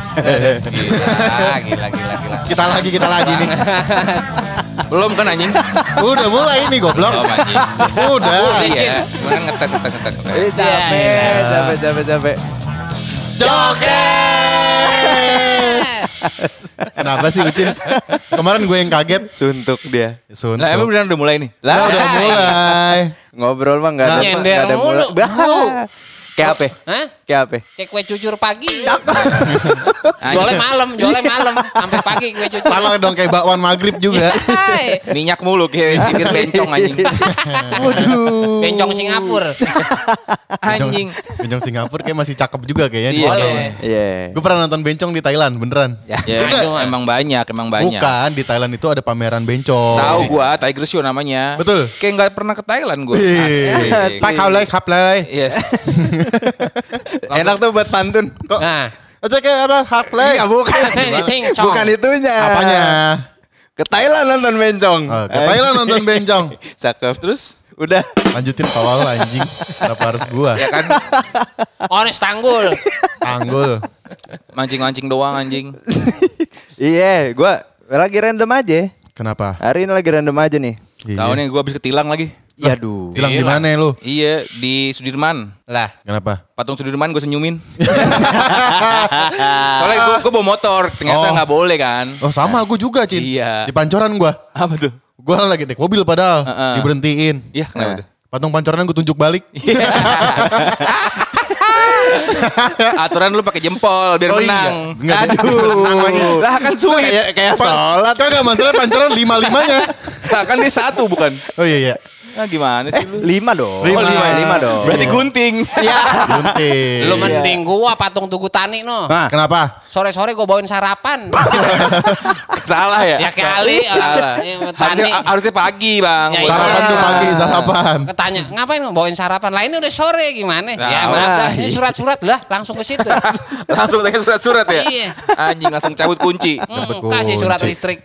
Gila. Kita lagi nih. Belum kan anjing? Udah mulai nih goblok. Oh anjing. Udah. Iya. Mana ngetes. Capek. Jokes. Kenapa sih Ucin? Kemarin gue yang kaget. Suntuk dia. Suntuk. Lah emang beneran udah mulai nih? Lah udah mulai. Ngobrol mah enggak ada. Nyender Nggak ada mulu. mulai. Kayak apa? Hah? Kayak apa? Kayak kue cucur pagi. Jualnya malam. Sampai pagi kue cucur. Salah dong kayak bakwan maghrib juga. Hai. Minyak mulu kayak bibir bencong anjing. Waduh. Bencong Singapura. Anjing. Bencong Singapura kayak masih cakep juga kayaknya. di Iya. sana. Boleh. Iya. Gue pernah nonton bencong di Thailand, beneran. Ya Itu mah. emang banyak. Bukan, di Thailand itu ada pameran bencong. Tahu gua Tiger Show namanya. Betul. Kayak nggak pernah ke Thailand gua. Wih. Tak kau like, haplay. Yes. Enak tuh buat pantun. Kok? Nah. Aja kayak apa? Haplay. Iya bukan. Sing-song. Bukan itunya. Apanya? Ke Thailand nonton bencong. Oh, ke Thailand nonton bencong. Cakep. Terus Udah. Lanjutin awal anjing. Kenapa harus gua? ya kan Oris Tanggul. Tanggul. mancing-mancing doang anjing. Iya, gua lagi random aja. Kenapa? Hari ini lagi random aja nih. Tahu nih gua habis ketilang lagi. Yaduh. Hilang di mana lu? Iya di Sudirman. Lah. Kenapa? Patung Sudirman gue senyumin. Soalnya gue bawa motor, ternyata Oh. nggak boleh kan. Oh sama gue juga Cin. Iya. Di Pancoran gua. Apa tuh? Gua lagi naik mobil padahal. Diberhentiin. Iya kenapa tuh? Patung Pancoran gue tunjuk balik. Aturan lu pakai jempol biar menang. Iya. Enggak, Aduh. menang lagi. Lah kan sulit. Kayak sholat. Kan gak masalah Pancoran 5-5-nya. Lah kan dia satu bukan? Oh iya. Nah gimana sih lu? 5 dong. Lima. Lima dong. Berarti gunting. Gunting. Lu mending gua patung Tugu Tani no. Nah, Kenapa? Sore-sore gua bawain sarapan. Salah ya? Ya kali. Salah. Tani. Harusnya pagi bang. Ya, Sarapan iya. tuh pagi, sarapan. Ketanya, ngapain bawain sarapan? Lah ini udah sore gimana? Ya Nah, maaf dah, ini surat-surat lah langsung ke situ. Langsung pakai surat-surat ya? Iya. Anjing langsung cabut kunci. Kasih surat kunci. listrik.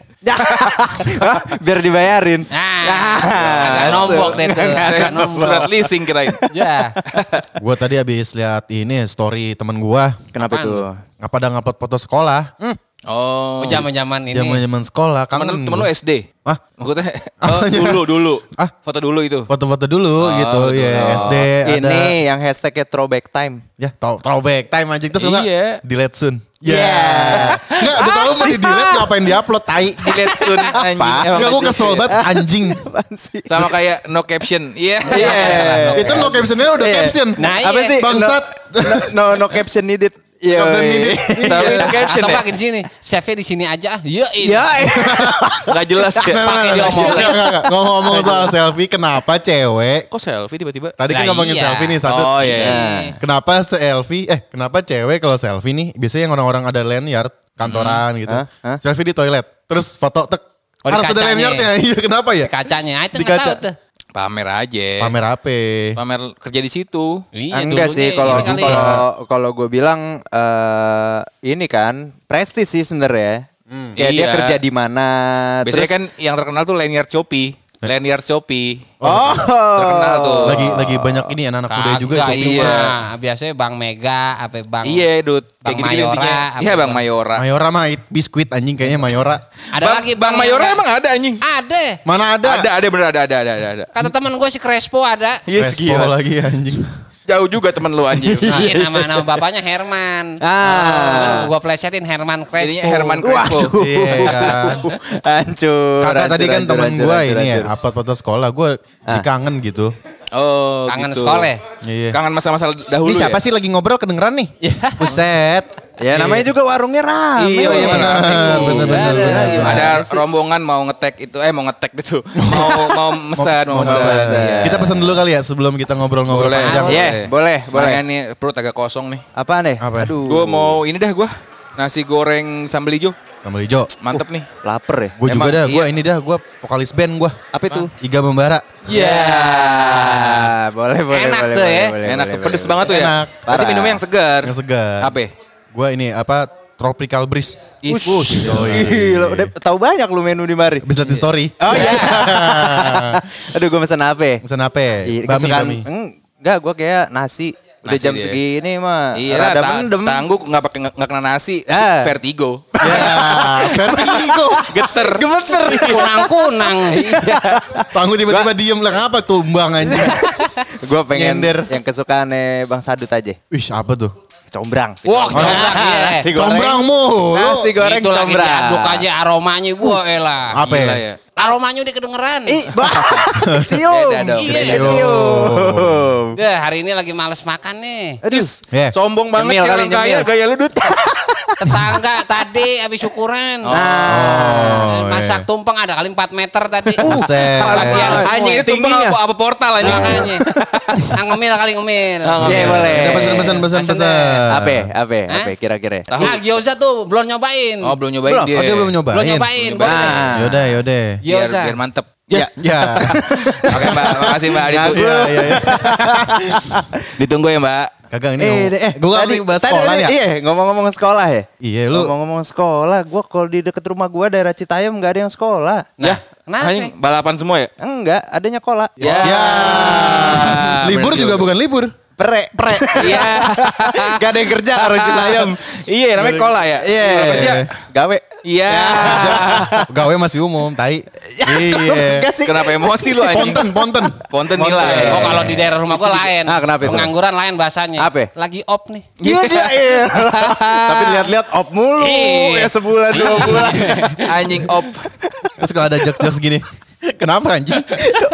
biar dibayarin. Nah, agak nombok deh tuh. Agak nombok. Surat leasing kirain. Ya. Gua tadi habis lihat ini story temen gua. Kenapa Apaan tuh? Ngapa ada ngupload foto sekolah? Oh. Zaman-zaman ini. Zaman-zaman sekolah. Temen lu SD? Ah, Maksudnya Apanya? dulu. Ah. Foto dulu itu. foto-foto dulu gitu. Ya SD ada. Ini yang hashtagnya throwback time. Ya, throwback time aja terus enggak? Iya. Delete soon. Ya. Yeah. Enggak, udah tahu mau di delete ngapain di-upload tai. Delete soon anjing. Emang Enggak, gue masih- kesel banget anjing. Apaan sih? Sama kayak no caption. Iya. Itu no captionnya udah Iya. caption. Nah, Apa iya. sih? Bangsat. No caption needed. Iya. Caption needed. Tapi Iya. caption Atau ya. pakai di sini. Save di sini aja. Ya, Ya. Nggak jelas ya. Pakai di omong. Enggak. Ngomong soal selfie, kenapa cewek? Kok selfie tiba-tiba? Tadi kan Lah ngomongin iya. selfie nih satu. Oh iya. Kenapa kenapa cewek kalau selfie nih, biasanya yang orang-orang ada lanyard, kantoran gitu. Hah? Selfie di toilet, terus foto tek. Oh, di Harus ada kacanya. lanyardnya. Iya, kenapa ya? Kacanya. Ah, itu Di nggak kaca. tahu tuh. Pamer aja. Pamer apa? Pamer kerja di situ. Iya, Enggak dulu sih nih, kalau ini kali. kalau gue bilang ini kan prestis sih sebenarnya. Kayak dia Iya. kerja di mana. Biasanya kan yang terkenal tuh lanyard Shopee. Lanyard Shopee. Oh. Terkenal tuh. Lagi banyak ini anak-anak muda juga Kagak, shopping. iya. mah. Biasanya Bang Mega, apa Bang Iya, Dut. Kayak Bang gitu-gitu Mayora, intinya. apa Iya, Bang Bang- Mayora. Mayora mah biskuit anjing kayaknya Mayora. Ada Bang, lagi Bang Mayora yang emang ada anjing. ada. Mana ada? Ada bener ada. Kata teman gue si Crespo ada. Yes, Respo gila. lagi anjing. Jauh juga temen lu anjing. Iya, nama bapaknya Herman. Gue plesetin Herman Crespo. Jadinya Herman Crespo. Iya kan. Hancur. Kakak tadi kan hancur, temen hancur, gue hancur, ini ya, hancur. upload foto sekolah. Gue kangen gitu. Oh, Kangen gitu. sekolah. Iya. Kangen masa-masa dahulu Ini siapa ya? sih lagi ngobrol kedengeran nih? Buset. Ya namanya juga warungnya rame. Iya, iya, benar. Bener. Ada rombongan mau ngetek itu, mau ngetek itu. mau mesan, mau mesan. Iya. Kita pesan dulu kali ya sebelum kita ngobrol-ngobrol Boleh. panjang. Iya, boleh. Makanya nih perut agak kosong nih. Apa nih? Apa? Aduh. Gue mau ini dah gue. Nasi goreng sambal hijau. Sambal hijau. Mantep nih. Lapar ya? Gue juga Emang, dah, gue iya. ini dah, gue vokalis band gue. Apa itu? Iga Membara. Boleh. Enak tuh ya. Enak tuh, pedes banget tuh ya. Enak. Berarti Parah. minumnya yang segar. Yang segar. Apa? Gue ini apa, Tropical Breeze. Gila, udah tahu banyak lu menu di mari. Habis liat di story. Oh iya. Aduh, gue mesen apa? Pesan apa? Iya, Bami, kesukaan- bami. Enggak, gue kayak nasi. Udah jam dia. segini mah. Iya, rada mendem. tangguh nggak kena nasi. Vertigo. Ya, vertigo. Gemeter. Kunang-kunang. Tangguh tiba-tiba diem lah, ngapa tumbang anjing. Gue pengen Nyender. yang kesukaannya Bang Sadut aja. Wih, apa tuh? Combrang. Wah, combrang iya. Nasi goreng. Combrang mulu. Nasi goreng Itu lagi combrang. diaduk aja aromanya gua elah. Apa Gila ya? ya. Aromanya udah kedengeran. Cium. Beda dong, Iya. beda. Cium. Deh, hari ini lagi males makan nih. Aduh. Ya. Sombong banget Nyemil kayak kali, orang kaya, nyemil. gaya lu Dut. Tetangga tadi habis syukuran. Masak tumpeng ada kali 4 meter tadi. Buset. Bagian Anjing itu tumpeng tingginya. apa portal anjing. makanya. Ngemil kali ngemil. Iya boleh. Udah pesan. Apa kira-kira? Nah, gyoza tuh belum nyobain. Oh, belum nyobain Oh, dia. dia belum nyobain. Belum nyobain. Boleh deh. Yaudah. Biar Gyoza. biar mantep. Ya. Oke, Mbak. Makasih, Mbak. Iya. Ditunggu ya, Mbak. Kagak ini. Gua kan bahas sekolah ya. Iya, ngomong-ngomong sekolah ya. Iya, lu. Ngomong-ngomong sekolah, gua kalau di deket rumah gua daerah Citayam nggak ada yang sekolah. Nah, kenapa? Anjing, balapan semua ya? Enggak, adanya kola. Ya. Libur bener juga juga. bukan libur. Pre. Iya. Gak ada yang kerja orang Citayam. Iya, namanya kola ya. Iya. Kalau kerja. Gawe. Iya. Gawe masih umum, tai. Iya. Enggak sih. Kenapa emosi lu anjing? Ponten. Ponten nilai. Oh, kalau di daerah rumah gua lain. Ah, kenapa itu? Pengangguran lain bahasanya. Apa? Lagi op nih. Iya. Tapi lihat-lihat op mulu Iya. ya sebulan 2 bulan. Anjing op. Terus kalau ada jokes gini. Kenapa anjing?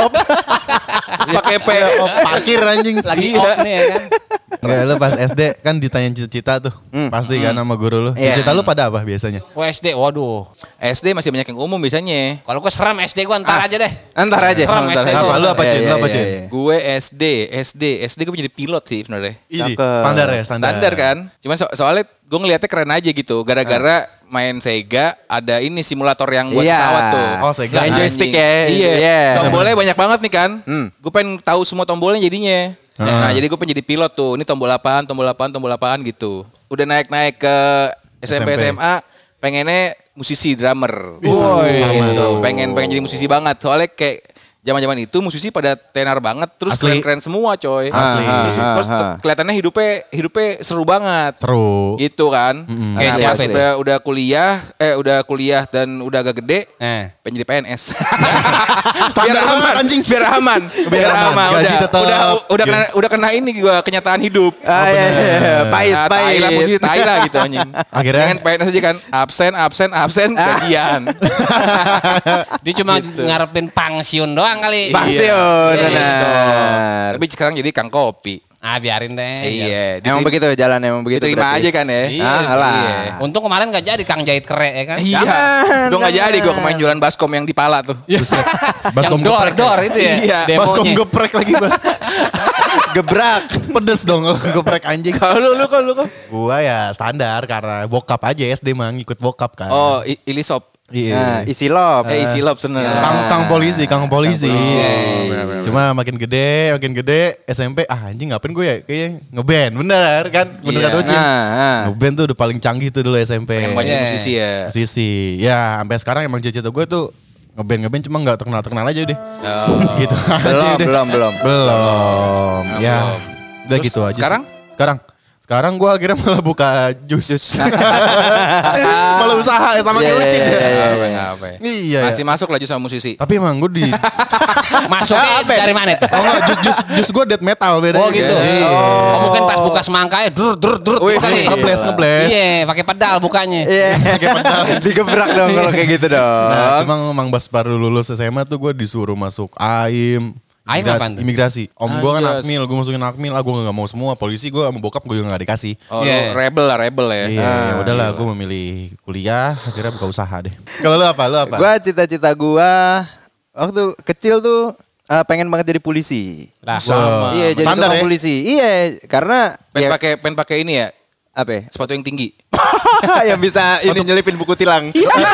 Pakai P. Parkir anjing. Lagi op nih ya kan. Enggak, lu pas SD kan ditanyain cita-cita tuh. Pasti kan sama guru lu. Iya. Cita-cita lu pada apa biasanya? SD, waduh. SD masih banyak yang umum biasanya. Kalau gua serem SD gua ntar aja deh. Antar aja. Serem Antar SD. aja. Apa lu apa, Cin? Lu apa, Cin? Gue SD gue jadi pilot sih sebenarnya. Ini Cakep. standar ya, Standar kan. Cuman soalnya gue ngeliatnya keren aja gitu. Gara-gara main Sega ada ini simulator yang buat Iya. pesawat tuh. Oh, Sega. Main joystick Anjing. ya. Iya. Iya. Tombolnya banyak banget nih kan. Hmm. Gue pengen tahu semua tombolnya jadinya. Nah, jadi gue pengen jadi pilot tuh. Ini tombol apaan gitu. Udah naik-naik ke SMP SMP. SMA, pengennya musisi drummer. Woi. Sama Gitu. tuh. Pengen jadi musisi banget. Soalnya kayak zaman-zaman itu musisi pada tenar banget, terus Asli. keren-keren semua coy. Asli. Terus kelihatannya hidupnya seru banget. Seru. Gitu kan. Kayak Pas siapa itu? udah kuliah dan udah agak gede, pengen jadi PNS. Standar banget, anjing. Biar aman. Biar aman. Gaji tetap. Udah kena ini gua kenyataan hidup. Ah, iya. Pahit. Tai lah musisi, tai lah gitu anjing. Akhirnya? Pengen PNS aja kan. Absen gajian. Dia cuma ngarepin pensiun doang kali. Pensiun. Iya. Benar. Tapi sekarang jadi kang kopi. Ah, biarin deh. Iya, Emang begitu jalan emang begitu. diterima berarti. aja kan ya. Iya, Ah, alah. Iya. Untung kemarin gak jadi Kang jahit kere ya kan. Iya. Gue gak jadi gue kemarin jualan baskom yang di pala tuh. Buset. Baskom Yang geprek. dor itu ya. Iya. Demonya. Baskom geprek lagi, Bang. Gebrak. Pedes dong kalau geprek anjing. Kalau lu kok. Gua ya standar karena bokap aja SD mah ngikut bokap kan. Oh, ilisop. iya. Nah, isi lop. Isi lop seneng. Kang polisi. Iya. Cuma makin gede SMP anjing ngapain gue ya kayak ngeband bener kan bener Iya. kata Ucin. Nah, Ngeband tuh udah paling canggih tuh dulu SMP. Pengen banyak Iya. musisi ya. Musisi. Ya sampai sekarang emang cita-cita gue tuh ngeband cuma nggak terkenal aja deh. Oh. Gitu aja deh. belum. Ya udah Terus gitu aja sekarang? sih. Sekarang gue akhirnya malah buka jus. Malah usaha ya sama kayak Iya, Ucin. iya, Apa ya? Iya. Masih masuk lagi sama musisi. Tapi emang gue di Masuknya dari mana itu? oh enggak, jus gue death metal beda. Oh gitu. Iya. Oh mungkin pas buka semangkanya dur Wih, kali. Ngebles. Iya, pakai pedal bukanya. Iya. Digebrak dong kalau kayak gitu dong. Nah, cuma emang pas baru lulus SMA tuh gue disuruh masuk AIM. AIM apaan tuh? Imigrasi. Om gue kan Anjas. Akmil, gue masukin Akmil. Gue gak mau semua. Polisi gue sama bokap gue juga gak dikasih. Oh, Iya. lu rebel ya. Iya, udahlah gue memilih kuliah. Akhirnya buka usaha deh. Kalau lu apa? Gua cita-cita gua waktu kecil tuh pengen banget jadi polisi. Lah, Sama. Iya, jadi Standar tukang ya? polisi. Iya, karena Pengen pakai ini ya. apa ya? Sepatu yang tinggi. Yang bisa ini nyelipin buku tilang.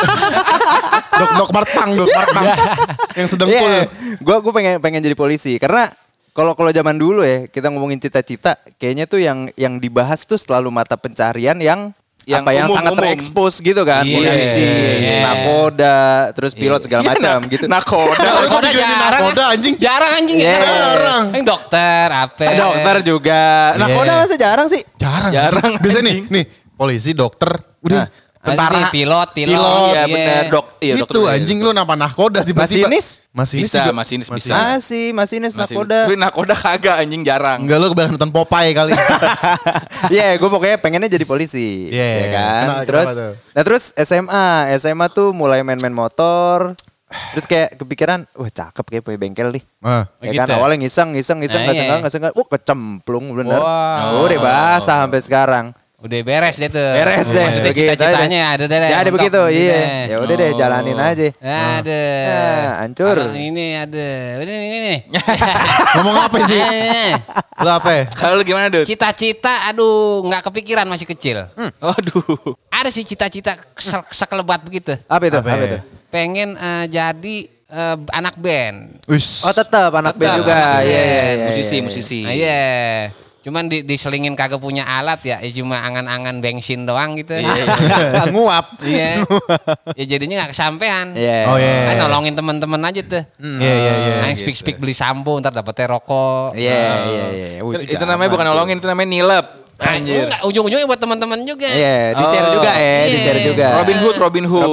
Dok Martang. Yang sedang Iya, full. gua pengen jadi polisi karena kalau zaman dulu ya kita ngomongin cita-cita, kayaknya tuh yang dibahas tuh selalu mata pencarian yang yang yang sangat umum. terekspos gitu kan, Iya. polisi, Iya. nakoda, terus pilot segala macam gitu. Nakoda. Nakoda Jadi jarang. nakoda anjing. Jarang anjing Iya. ya. Jarang. Yang dokter apa? Dokter juga. Nakoda Iya. masa jarang sih? Jarang, Biasanya nih polisi, dokter, udah tentara, Ini pilot. Iya benar, iya, itu dokter. anjing lu napa nahkoda tiba-tiba. Masinis? Bisa, juga. masinis bisa. Masinis nakoda. Tapi nakoda kagak anjing jarang. Enggak, lu kebanyakan nonton Popeye kali. Iya, gue pokoknya pengennya jadi polisi, Iya, ya kan. kenapa Terus, tuh? terus SMA tuh mulai main-main motor. Terus kayak kepikiran, wah cakep kayak punya bengkel nih. Ah. Ya kan Gitu. awalnya ngiseng, Nah, nggak sengaja, kecemplung bener. Wah. Udah basah sampai sekarang. Udah beres deh tuh. Beres deh. Maksudnya begitu cita-citanya aja. ada deh. Ya ada mentok begitu, gitu iya. deh. Ya udah deh, jalanin aja. Ada. Nah, hancur. Kalau ini ada. Udah ini. Ngomong apa sih? Lu apa? Kalau lu gimana, Dut? Cita-cita, aduh, nggak kepikiran masih kecil. Waduh. Ada sih cita-cita sekelebat begitu. Apa itu? Apa Apa ya? itu? Pengen jadi anak band. Wis. Oh tetap anak band Tetap, juga. anak Iya, band. iya, iya, Musisi. Nah, iya. Cuman diselingin kagak punya alat ya, cuma angan-angan bensin doang gitu. iya. Nguap. Iya. Ya jadinya nggak kesampean. Iya. Oh iya. Kan nolongin teman-teman aja tuh. Iya. Nah, speak beli sampo, ntar dapetnya rokok. Iya. Itu namanya bukan nolongin, itu namanya nilep. Nah, enggak, ujung-ujungnya buat teman-teman juga. Iya, di-share juga Iya. di-share juga. Robin Hood. Robin Hood.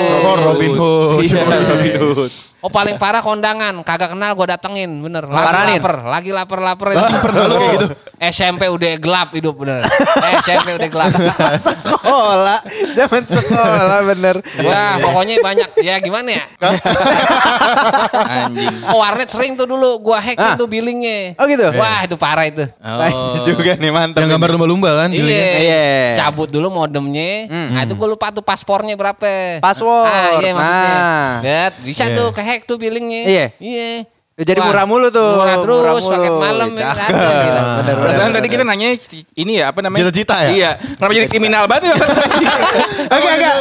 Iya, Robin Hood. Oh paling parah kondangan, kagak kenal gue datengin, bener. Paranin. Lagi lapar. Pernah lu kayak gitu? SMP udah gelap hidup bener. SMP udah gelap. Sekolah, zaman sekolah bener. Wah pokoknya banyak, ya gimana ya? Anjing. Oh warnet sering tuh dulu, gua hack itu billingnya. Oh gitu? Wah itu parah itu. Oh. juga nih mantap. Yang gambar lumba-lumba kan? Iya. Iya. Cabut dulu modemnya. Nah itu gue lupa tuh paspornya berapa. Password. Ah iya maksudnya. Nah. Bet, bisa Iya. tuh ke hack tuh billingnya. Iya. Iya. Jadi Wah, murah mulu tuh. Murah terus, Murah mulu. paket malam ya, Cakep. ada, gila. Bener, Perasaan bener, tadi kita nanya ini ya apa namanya? Cita-cita ya? Iya. Kenapa jadi kriminal banget ya? Enggak.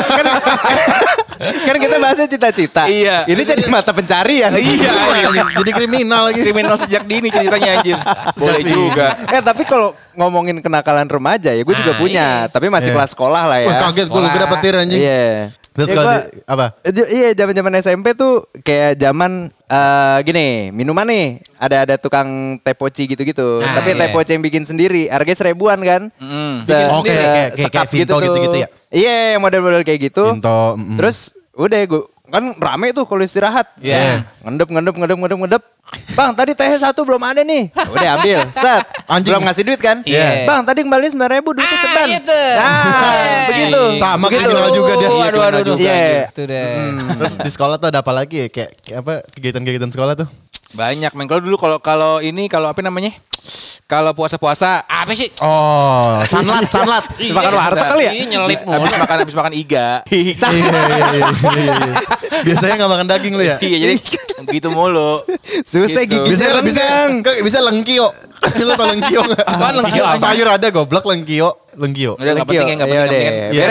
Kan kita bahasnya cita-cita. Iya. Ini jadi mata pencarian. Iya. Jadi kriminal lagi. Kriminal sejak dini ceritanya anjir. Boleh juga. Tapi kalau ngomongin kenakalan remaja ya gue juga Ah, punya. Tapi masih Iya. kelas sekolah lah ya. Wah kaget gue Sekolah. dapet tir anjing. Iya. Terus Ya, kalau gua- apa? Iya, zaman-zaman SMP tuh kayak zaman gini, minuman nih, ada tukang teh poci gitu-gitu. Nah, Tapi iya. teh poci yang bikin sendiri, harganya 1000-an kan? Oh, kayak Vinto gitu-gitu ya? Iya, model-model kayak gitu. Vinto, Terus udah gue kan rame tuh kalau istirahat. Iya. Ngendep. Bang, tadi teh satu belum ada nih. Udah ambil, set. Anjing. Belum ngasih duit kan? Iya. Bang, tadi kembali 9.000 duitnya ceban. Itu. Nah, begitu. Sama Begitu. kriminal juga dia. Aduh. Iya. Itu deh. Terus di sekolah tuh ada apa lagi ya? Kayak apa kegiatan-kegiatan sekolah tuh? Banyak men. Kalau dulu kalau apa namanya? Kalau puasa-puasa Apa sih? Oh, sanlat. Makan warteg kali ya? Iya, nyelip mulu. habis makan iga. Iya. Biasanya nggak makan daging lu ya? Iya jadi gitu mulu. Susah Gitu. gigi renggang. Bisa lengkio. Lu tau lengkio nggak? Apaan lengkio? Sayur ada goblok lengkio. Udah nggak penting ya nggak Iya, penting. deh. Iya,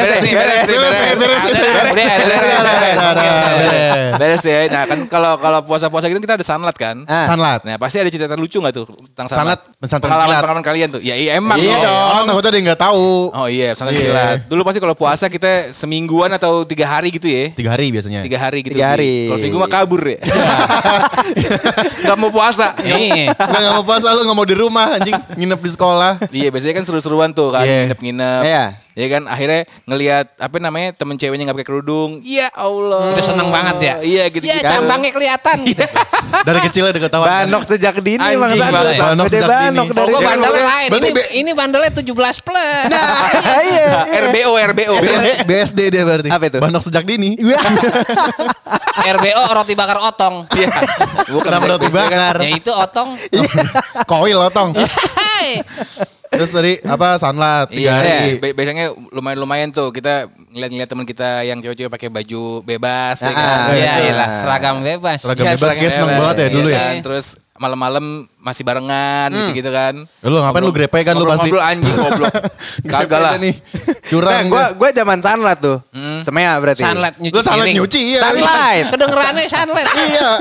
Beres ya. Nah kan kalau puasa-puasa gitu kita ada sanlat kan. Sanlat. Nah pasti ada cerita lucu nggak tuh tentang Sanlat, pesantren pengalaman kilat. pengalaman kalian tuh. Ya iya emang. Iya dong. dong. Takutnya dia nggak tahu. Oh iya pesantren Iya. kilat. Dulu pasti kalau puasa kita semingguan atau 3 hari gitu ya. 3 hari biasanya. 3 hari gitu. 3 hari. Kalau seminggu mah kabur ya. Gak mau puasa. Nih. Nggak mau puasa lu nggak mau di rumah anjing nginep di sekolah. Iya biasanya kan seru-seruan tuh kan Iya. nginep-nginep. Iya. Ya kan akhirnya ngelihat apa namanya temen ceweknya nggak pakai kerudung. Ya Allah. Udah seneng banget ya. Iya gitu. Ya jambangnya kelihatan gitu. Dari kecil udah ketahuan. Banok sejak dini Anjing Bang Sandro. banget. Banok Gede sejak banok dini. dari Oh, gue bandelnya lain. Berarti Ini bandelnya 17 plus. Iya. RBO. BSD dia berarti. Apa itu? Banok sejak dini. RBO roti bakar otong. Iya. Bukan Kenapa roti bakar? Ya itu otong. Koil otong. Hai. Terus tadi apa sanlat 3 hari. Biasanya lumayan tuh kita ngeliat teman kita yang cewek-cewek pakai baju bebas ya kan. Iya, Betul. iyalah, seragam bebas. Seragam Iya, bebas, guys, seneng banget ya dulu ya. kan. Terus malam-malam masih barengan gitu kan. Lu ngapain lu grepe kan lu pasti. Ngobrol anjing goblok. Kagak lah. Nih. Curang. Gue zaman sanlat tuh. Semea berarti. Sunlight nyuci Lu sanlat piring. nyuci iya. Sunlight. Kedengerannya sunlight. Iya.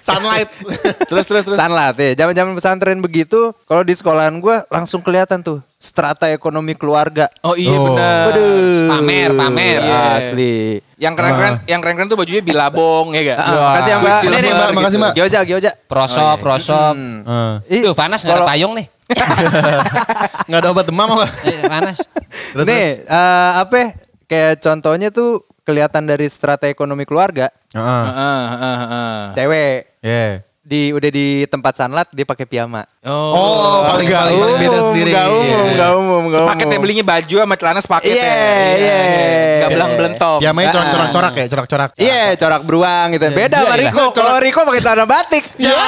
Sunlight. Terus. Sunlight ya. Zaman-zaman pesantren begitu, kalau di sekolahan gue langsung kelihatan tuh strata ekonomi keluarga. Oh iya benar. Pamer. Asli. Yang keren-keren tuh bajunya bilabong ya gak? Makasih ya Mbak. Makasih, Nih, Mbak. Makasih, Mbak. Gyoza. Prosop. Tuh panas nggak ada Kalau- payung nih. Nggak ada obat demam apa? Panas. Terus, Nih, apa ya, kayak contohnya tuh kelihatan dari strata ekonomi keluarga. Heeh. Cewek Yeah. udah di tempat sunlight dia pakai piyama. Oh, paling beda sendiri. Gak umum. Sepaketnya belinya baju sama celana sepaket Iya. Gak belang-belentop. Ya main corak-corak ya, corak-corak. Iya, corak beruang gitu. Beda sama Iya, Riko. Kalau Riko pakai celana batik.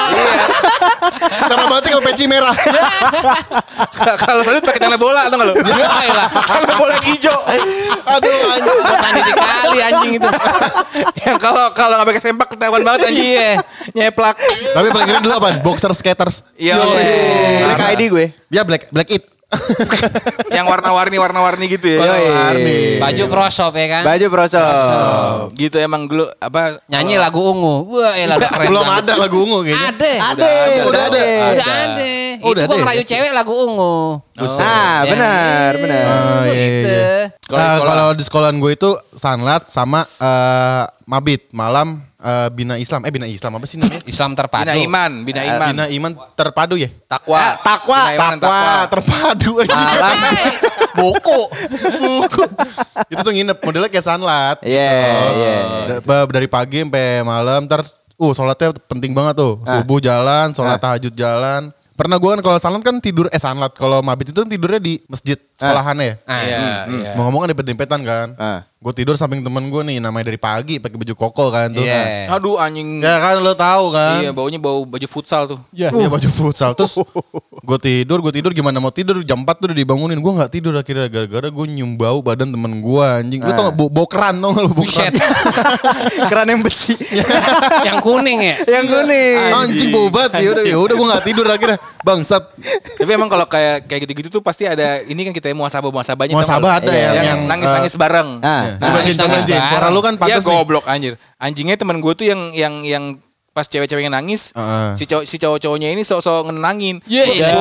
Cara batik sama peci merah. Kalau Salut pakai celana bola atau enggak lu? Ya lah. Celana bola yang hijau. Aduh, anjing. Bukan di kali anjing itu. Yang kalau nggak pakai sempak ketahuan banget anjing. Iya. Nyeplak. Tapi paling keren dulu apaan? Boxer skaters. Iya. Black ID gue. Ya Black It. Yang warna-warni gitu ya. Yoi. Baju prosop ya kan. Baju prosop. Gitu emang dulu apa Nyanyi lagu ungu. Wah, lagu keren Belum banget. ada lagu ungu kayaknya. Ada. Udah ada. Udah ada. Oh, udah Itu gua ada ya? ngerayu cewek lagu ungu. Ah, benar. Oh, iya, Gitu. iya. Kalau di sekolahan gue itu Sunlight sama Mabit malam Bina Islam. Bina Islam apa sih namanya? Islam terpadu. Bina iman. Bina Iman terpadu ya? Takwa. Takwa terpadu aja. Buku. Buku. Itu tuh nginep modelnya kayak Sunlight. Iya. Dari pagi sampai malam sholatnya penting banget tuh. Subuh jalan, sholat tahajud jalan. Pernah gue kan kalau Sunlight kan tidur Sunlight kalau Mabit itu kan tidurnya di masjid sekolahannya ya. Iya. Mau ngomong kan dempet-dempetan kan. Gue tidur samping temen gue nih namanya dari pagi pakai baju koko kan tuh. Iya. Aduh anjing. Ya kan lo tahu kan. Iya, baunya bau baju futsal tuh. Iya baju futsal. Terus gue tidur gimana mau tidur jam 4 tuh udah dibangunin. Gue gak tidur akhirnya gara-gara gue nyium bau badan temen gue anjing. Lu tau gak bau keran tau gak lu bau keran? Buset. Keran yang besi. Yang kuning ya. Yang kuning. Anjing bau banget ya udah gue gak tidur akhirnya. Bangsat. Tapi emang kalau kayak gitu-gitu tuh pasti ada ini kan kita muasabahnya. Muasabah ada yang nangis-nangis bareng. Coba Jin, suara lu kan Ya pantas nih. goblok anjir. Anjingnya temen gue tuh yang pas cewek-ceweknya nangis, si cowok-cowoknya ini sok-sok ngenangin. Iya.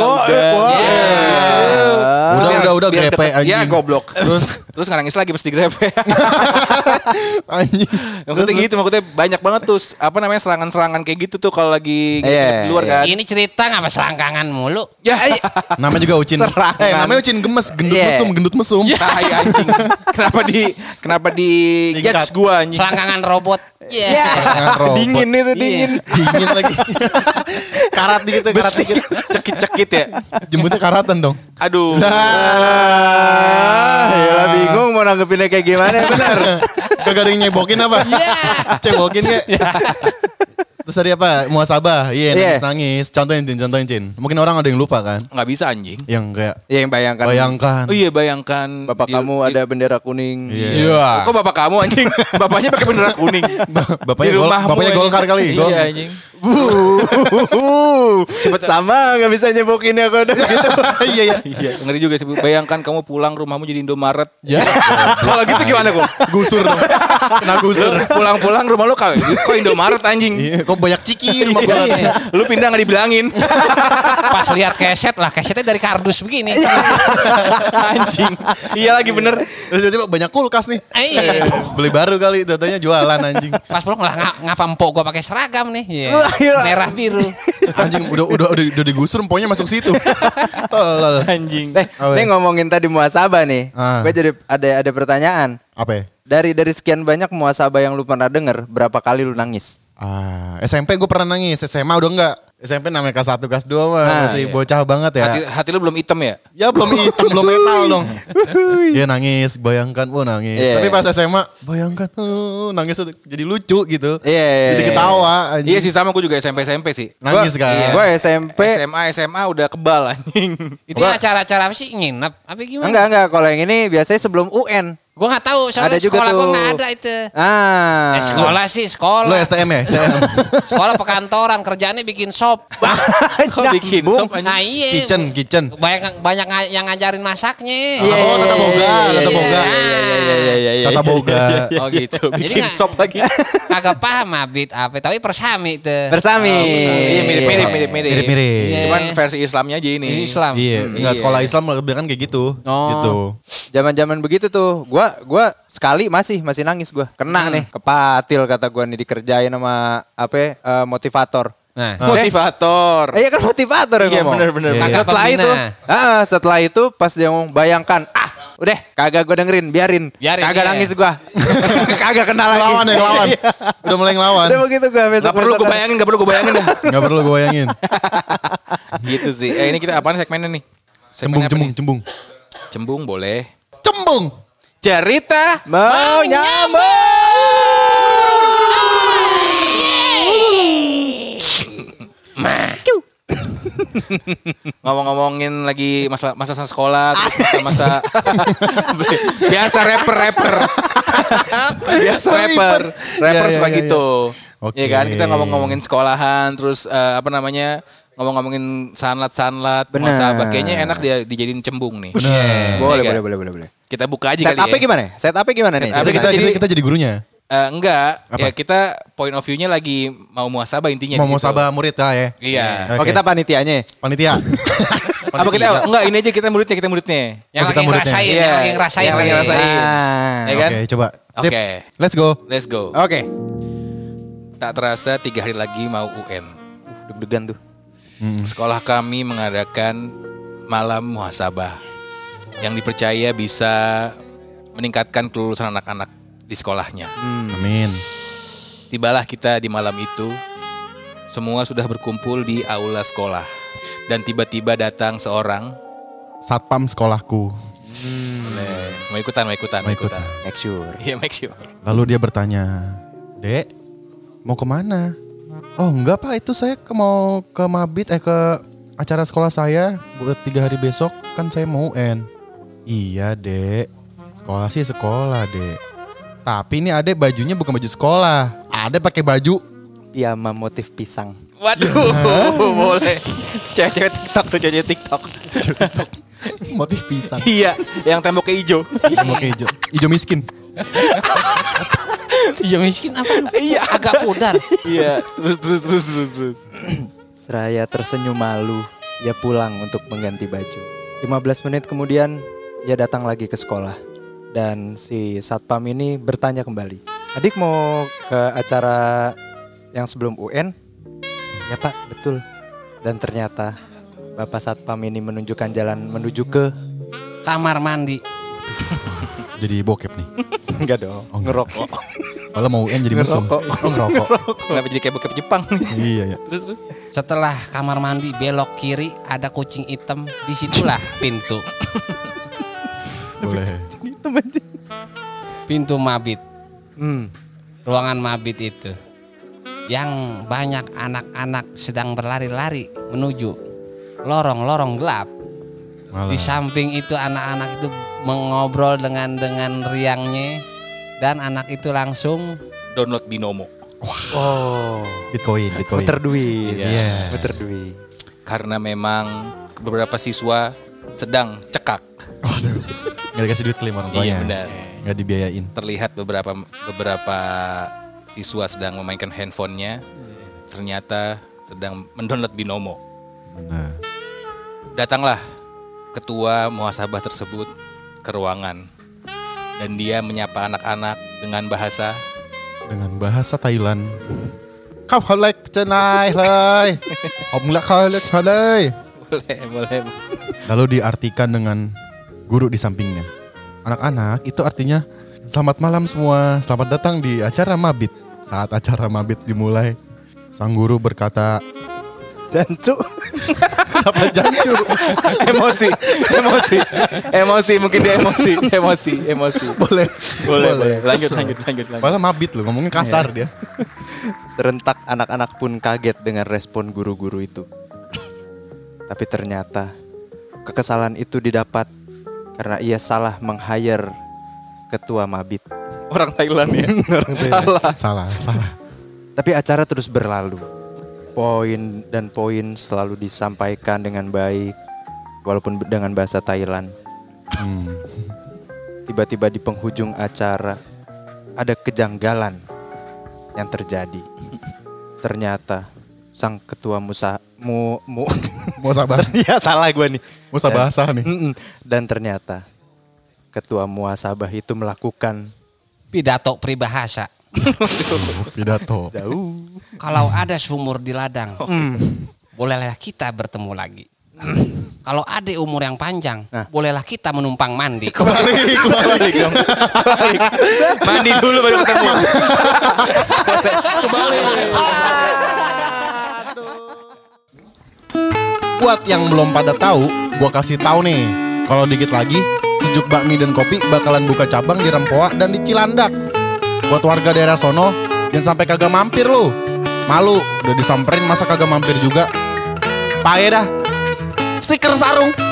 Udah Biar grepe deket. anjing. Ya goblok. Terus nangis lagi pas digrepe. Anjing. Maksudnya banyak banget tuh serangan-serangan kayak gitu tuh kalau lagi di luar kan. Ini cerita ngapa selangkangan mulu? Ya, Namanya juga Ucin. Namanya Ucin gemes, gendut mesum. tai anjing. Kenapa di judge gua anjing. Selangkangan robot. Ya. Dingin itu dingin. Dingin lagi. Karat dikit. Cekit-cekit ya. Jemputnya karatan dong. Aduh. Ya bingung mau nanggepinnya kayak gimana benar. Kagak ada yang nyebokin apa? Cebokin kayak. Terus tadi apa? Muasabah. Iya, nangis. Contohin Cin. Mungkin orang ada yang lupa kan? Nggak bisa anjing. Yang kayak Yang bayangkan. Oh iya bayangkan. Bapak kamu ada bendera kuning. Iya. Kok bapak kamu anjing? Bapaknya pakai bendera kuning. Bapaknya Di rumahmu, bapaknya anjing. Golkar kali. Iya anjing. Cepet sama gak bisa nyebokinnya kok udah gitu. Iya. Iya, ngeri juga sih. Bayangkan kamu pulang rumahmu jadi Indomaret. Ya. Kalau gitu gimana kok? Gusur dong. Kena gusur. Pulang-pulang rumah lu kok Indomaret anjing. Iya, kok banyak ciki rumah gua. Lu pindah gak dibilangin. Pas lihat kesetnya dari kardus begini. Anjing. Iya lagi bener. Terus tiba-tiba banyak kulkas nih. Iya. Beli baru kali, datanya jualan anjing. Pas pulang lah ngapa empok gua pakai seragam nih. Iya. Gila. Merah biru. Anjing udah digusur empoknya masuk situ. Tolol. Anjing. Ini ngomongin tadi muasabah nih. Ah. Gue jadi ada pertanyaan. Apa ya? Dari sekian banyak muasabah yang lu pernah denger, berapa kali lu nangis? SMP gue pernah nangis, SMA udah enggak. SMP namanya kelas 1, kelas 2 mah masih bocah banget ya. Hati lu belum hitam ya? Ya belum hitam, belum metal dong. Iya nangis, bayangkan, nangis. Iya. Tapi pas SMA, bayangkan, nangis jadi lucu gitu. Iya. Jadi ketawa. Anjing. Iya sih sama gue juga SMP sih. Nangis kan. Gue SMP. SMA udah kebal anjing. Itu yang acara-acara apa sih? Nginep? Apa gimana? Enggak. Kalau yang ini biasanya sebelum UN. Gue nggak tahu soalnya Ada juga sekolah gue tuh. nggak ada itu. Ah. Sekolah sih sekolah. Lo STM ya? STM. Sekolah pekantoran kerjaannya bikin sop. Kok bikin Bung. sop anjing? Nah iya. Kitchen. Banyak yang ngajarin masaknya. Oh, tata boga, tata boga. Iya. Tata boga. Oh gitu, Jadi bikin nggak- sop lagi. Kagak paham Mabit apa, tapi persami tuh. Bersami. Iya mirip. Mirip-mirip. Iya. Cuman versi Islamnya aja ini. Islam. Iya, enggak sekolah Islam lebih kan kayak gitu. Oh. Gitu. Zaman-zaman begitu tuh, gua sekali masih nangis gua. Kena nih, kepatil kata gua nih dikerjain sama motivator. Nah, Motivator. Iya kan motivator yang Iya ngomong. benar. Iya. Setelah Pembina. itu, setelah itu pas dia ngomong bayangkan, udah kagak gua dengerin, biarin. Biarin, Kagak iya. nangis gua. Kagak kena lagi. Lawan ya, lawan. Udah mulai ngelawan. Udah begitu gua besok. Gak perlu gue bayangin dah. Enggak perlu gue bayangin. Gitu sih. Ini kita apaan segmennya nih? Segmen apa nih? Cembung. Cembung boleh. Cembung. Cerita. Mau nyambung. Ngomong-ngomongin lagi masa sekolah, terus masa-masa biasa rapper. Biasa rapper Iya, suka iya, gitu. Oke. Iya kan, kita ngomongin sekolahan, terus ngomongin sanlat, Benar. muhasabah. Kayaknya enak dia dijadiin cembung nih. Boleh, Iya kan? boleh. Kita buka aja Set kali up-nya ya. gimana? Set up-nya gimana nih? Set up-nya Kita jadi gurunya. Enggak, Apa? ya kita point of view-nya lagi mau muhasabah intinya Mau di situ. sabah murid lah ya. Iya. Oh, kita panitianya. Panitia. Apa kita enggak ini aja kita muridnya. yang kita lagi muridnya. ngerasain, Iya, yang lagi ngerasain. yang lagi lagi. ngerasain. Ya kan? Oke, coba. Tip. Oke. Let's go. Let's go. Oke. Tak terasa 3 hari lagi mau UN. Deg-degan tuh. Sekolah kami mengadakan malam muhasabah yang dipercaya bisa meningkatkan kelulusan anak-anak di sekolahnya. Amin. Tibalah kita di malam itu. Semua sudah berkumpul di aula sekolah. Dan tiba-tiba datang seorang. Satpam sekolahku. Mau ikutan. Make sure. Iya, make sure. Lalu dia bertanya, "Dek, mau kemana?" "Oh enggak Pak, itu saya mau ke Mabit, ke acara sekolah saya buat 3 hari besok, kan saya mau UN." "Iya Dek, sekolah sih sekolah Dek. Tapi ini adek bajunya bukan baju sekolah, adek pakai baju." Piyama motif pisang. Waduh, boleh. Cewek-cewek TikTok. Motif pisang. Iya, yang temboknya hijau. Oke, hijau miskin. Iya miskin apa? Iya. Agak pudar. Iya, terus. Seraya tersenyum malu, ia pulang untuk mengganti baju. 15 menit kemudian, ia datang lagi ke sekolah. Dan si satpam ini bertanya kembali. "Adik mau ke acara yang sebelum UN?" "Ya Pak, betul." Dan ternyata Bapak satpam ini menunjukkan jalan menuju ke... Kamar mandi. Jadi bokep nih. Enggak dong, ngerokok. Kalau mau UN jadi mesum. Ngerokok. Oh, ngerokok. Kenapa jadi kayak bokep Jepang? Iya ya. Terus. Setelah kamar mandi belok kiri ada kucing hitam, disitulah pintu. Boleh. Pintu mabit. Hmm. Ruangan mabit itu. Yang banyak anak-anak sedang berlari-lari menuju lorong-lorong gelap. Malah. Di samping itu anak-anak itu mengobrol dengan riangnya. Dan anak itu langsung Download Binomo. Oh, Bitcoin. muter duit. Iya. Muter duit. Karena memang beberapa siswa sedang cekak. Gak dikasih duit kelima orang tuanya. Iya, benar. Gak dibiayain. Terlihat beberapa siswa sedang memainkan handphonenya. Ternyata sedang mendownload Binomo. Benar. Datanglah ketua muhasabah tersebut ke ruangan. Dan dia menyapa anak-anak dengan bahasa Thailand. Kau halek cenai lai. Om lek halek halai. boleh. Lalu diartikan dengan guru di sampingnya. Anak-anak itu artinya selamat malam semua, selamat datang di acara mabit. Saat acara mabit dimulai, sang guru berkata, Jancu. "Apa jancu?" Emosi, mungkin dia emosi. Boleh. Lanjut. Padahal mabit loh, ngomongnya kasar dia. Serentak anak-anak pun kaget dengan respon guru-guru itu. Tapi ternyata kekesalan itu didapat karena ia salah meng-hire ketua Mabit. Orang Thailand ya. Orang Thailand. Salah. Tapi acara terus berlalu. Poin dan poin selalu disampaikan dengan baik, walaupun dengan bahasa Thailand. Tiba-tiba di penghujung acara ada kejanggalan yang terjadi. Ternyata sang ketua Muasabah. ya salah gue nih. Musabahasa nih. Dan ternyata ketua muasabah itu melakukan Pidato peribahasa. Pidato. jauh. Kalau ada sumur di ladang, bolehlah kita bertemu lagi. Kalau ada umur yang panjang, bolehlah kita menumpang mandi. Kebalik dong. Mandi dulu baru ketemu. Buat yang belum pada tahu, gua kasih tahu nih. Kalau dikit lagi, Sejuk Bakmi dan Kopi bakalan buka cabang di Rempoa dan di Cilandak. Buat warga daerah sono, jangan sampai kagak mampir lu. Malu, udah disamperin masa kagak mampir juga. Pae dah. Stiker sarung.